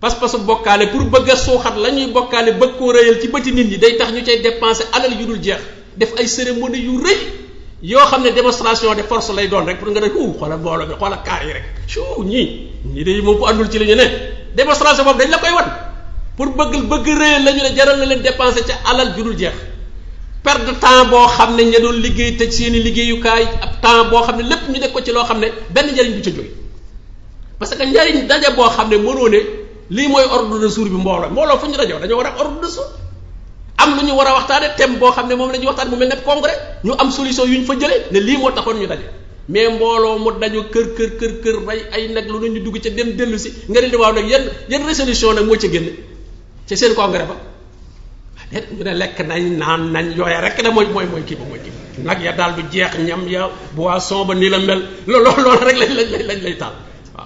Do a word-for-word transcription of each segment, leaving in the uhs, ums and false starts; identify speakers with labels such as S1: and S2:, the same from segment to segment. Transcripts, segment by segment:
S1: pas-pasu bokkaale pour bëgg a suuxat la ñuy bokkaale bëgg koo rëyal ci bëti nit ñi day tax ñu cay dépenser alal yu dul jeex def ay cérémonie yu rëy yoo xam ne démonstration de force lay doon rek pour nga ne uu xoolal mbooloo bi xoolal kaar yi rek suu ñii ñii de moom ko àndul ci li ñu ne démonstration boobu dañ la koy wan pour bëgg bëgg rëyal la ñu ne jaral na leen dépenser ca alal ju dul jeex perte de temps boo xam ne ña doon liggéey tëj seen i liggéeyukaay ab temps boo xam ne lépp ñu def ko ci loo xam ne benn njariñ du ca jóge parce que njariñ daje boo xam ne mënoo ne lii mooy ordre de jour bi mbooloo mbooloo fu ñu dajoo dañoo war a am ordre de jour am lu ñu war a waxtaane thème boo xam ne moom la ñuy waxtaan mu mel ne congrès ñu am solution yu ñu fa jëlee ne lii moo taxoon ñu daje mais mbooloo mu daju kër kër kër kër rey ay nag lu ñu dugg ca dem dellu si nga ne di waaw nag yan yan résolution nag moo ca génne ca seen congrès ba déet ñu ne lekk nañ naan nañ yooya rek da mooy mooy mooy kii ba mooy kii ba nag ya daal du jeex ñam ya boisson ba nii la mel loolu loolu rek lañ lañ lañ lay taal waaw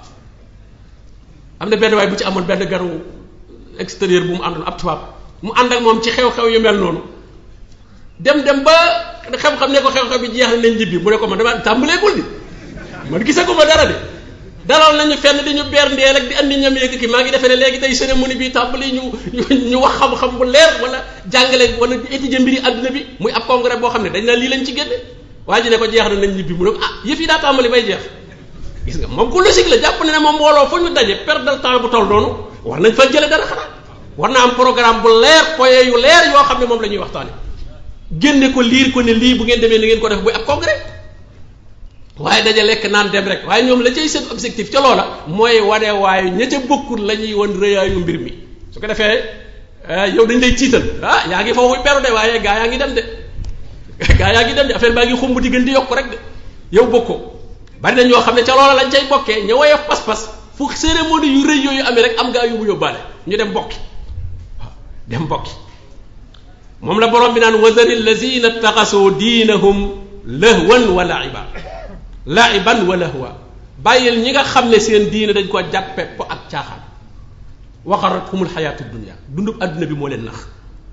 S1: am na benn waay bu ci amoon benn garu extérieur bu mu àndoon ab tubaab mu ànd ak moom ci xew-xew yu mel noonu dem dem ba xam-xam ne ko xew-xew bi jeex na nañ ñibbi mu ne ko man dama tàmbaleegul di man gisee ko ma dara de dalal nañu fenn di ñu beer ndeel ak di andi ñam yeeg kii maa ngi defee ne léegi tey cérémonie bi tàmbali ñu ñu wax xam-xam bu leer wala jàngale wala étudier mbiri àdduna bi muy ab congrès boo xam ne dañ naa lii lañ ci génne waa ji ne ko jeex na nañ ñibbi mu ne ko ah yëf yi daa tàmbali bay jeex gis nga moom ku logique la jàpp ne ne moom mbooloo fu ñu daje perte de temps bu toll noonu war nañ fa jële dara xanaa war na am programme bu leer point yu leer yoo xam ne moom la ñuy waxtaane génne ko liir ko ne lii bu ngeen demee ni ngeen ko def buy ab congrès waaye daja lekk naan dem rek waaye ñoom la cay seen objectif ca loola mooy wane waaye ña ca bokkul la ñuy won rëyaayu mbir mi su ko defee yow dañ lay tiital ah yaa ngi foofu beru de waaye gaa yaa ngi dem de gaa yaa ngi dem de affaire baa ngi xumb di gën di yokk rek de yow bokkoo bari na ñoo xam ne ca loola lañ cay bokkee ña woyof pas-pas fu cérémonie yu rëy yooyu amee rek am gaa yu mu yóbbaale ñu dem bokki waaw dem bokki moom la borom bi naan wazari lazina taxasoo diinahum lahwan wa laiba laiban wa lahwa bàyyil ñi nga xam ne seen diine dañ ko jàppe po ak caaxaan waxarathumul xayaatu dunia dundub adduna bi moo leen nax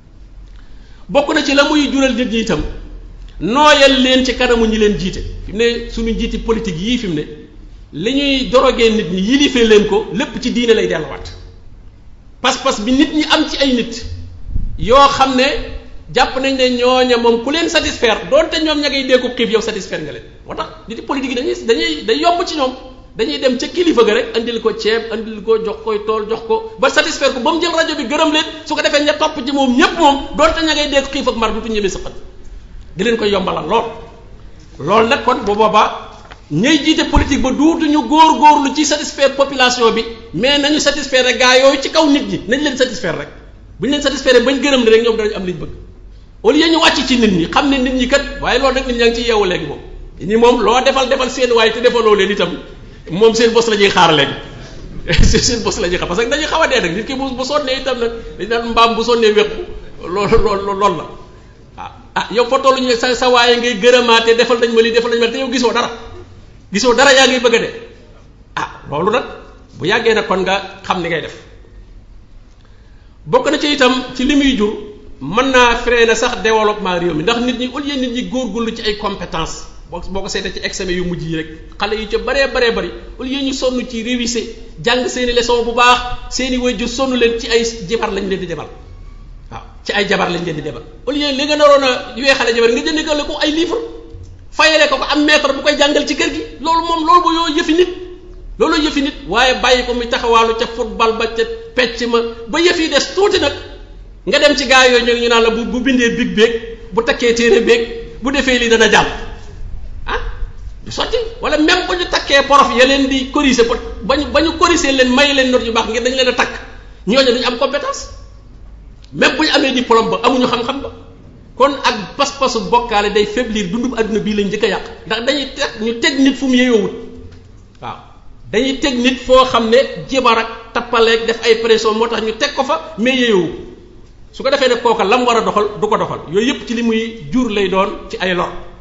S1: bokk na ci la muy jural nit ñi itam nooyal leen ci kanamu ñi leen jiite fi mu ne suñu njiiti politique yii fi mu ne li ñuy dorogee nit ñi yilifee leen ko lépp ci diine lay delluwaat pas-pas bi nit ñi am ci ay nit yoo xam ne jàpp nañ ne ñooña moom ku leen satisfaire doonte ñoom ña ngay déggu xiif yow satisfaire nga leen moo tax nit politique yi dañuy dañuy day yomb ci ñoom dañuy dem ca kilifa ga rek andil ko ceeb andil ko jox koy tool jox ko ba satisfaire ko ba mu jël rajo bi gërëm leen su ko defee ña topp ci moom ñépp moom doonte ña ngay dégg xiif ak mar dutu ñemee sëqat di leen koy yombalal lool loolu nag kon bu boobaa ñay jiite politique ba duutuñu góor góorlu ci satisfaire population bi mais nañu satisfaire rek gaa yooyu ci kaw nit ñi nañ leen satisfaire rek bu ñu leen satisfaire bañ gërëm ne rek ñoom danañ am liñ bëgg au lieu ñu wàcc ci nit ñi xam ne nit ñi kat waaye loolu nag nit ñaa ngi ciy yeewu léegi moom ñi moom loo defal defal seen waaye te defaloo leen itam moom seen bos la ñuy xaar léegi seen bos la ñuy xaar parce que dañuy xaw a dee nag nit ki bu bu sonnee itam nag dañ naan mbaam bu sonnee wéqu loolu loolu loolu la ah ah yow fa tollu ñu sa sa waaye ngay gërëmaate defal nañ ma lii defal nañ ma te yow gisoo dara gisoo dara yaa ngi bëgg a dee ah loolu nag bu yàggee nag kon nga xam ni ngay def bokk na ci itam ci li muy jur mën naa freiner sax développement réew mi ndax nit ñi au lieu nit ñi góorgóorlu ci ay compétences boo boo ko seetee ci examen yu mujj yi rek xale yu ca baree baree bari au lieu ñu sonn ci réviser jàng seeni leçon bu baax seeni waajur sonn leen ci ay jabar lañ leen di demal waaw ci ay jabar lañ leen di demal au lieu li nga naroon a weexale jabar nga jëndee ko ay livre fayale ko ko am maître bu koy jàngal ci kër gi loolu moom loolu ba yoo yëfi nit loolu yëfi nit waaye bàyyi ko muy taxawaalu ca football ba ca pecc ma ba yëf yi des tuuti nag nga dem ci gaa yooyu ñu naan la bu bu bindee big beeg bu takkee téere beeg bu defee lii dana jàll ah du sotti wala même bu ñu takkee prof ya leen di corriger ba ñu ba ñu corriger leen may leen note yu baax ngir dañu leen a takk ñooñu duñu am compétence même bu ñu amee diplôme ba amuñu xam-xam ba kon ak pas-pasu bokkaale day faiblir dundub adduna bii lañ njëkk a yàq ndax dañuy teg ñu teg nit fu mu yeyoowut waaw dañuy teg nit foo xam ne jibar ak tappaleeg def ay pression moo tax ñu teg ko fa mais yeyoowu su ko defee ne kooka lam war a doxal du ko doxal yooyu yëpp ci li muy jur lay doon ci ay lor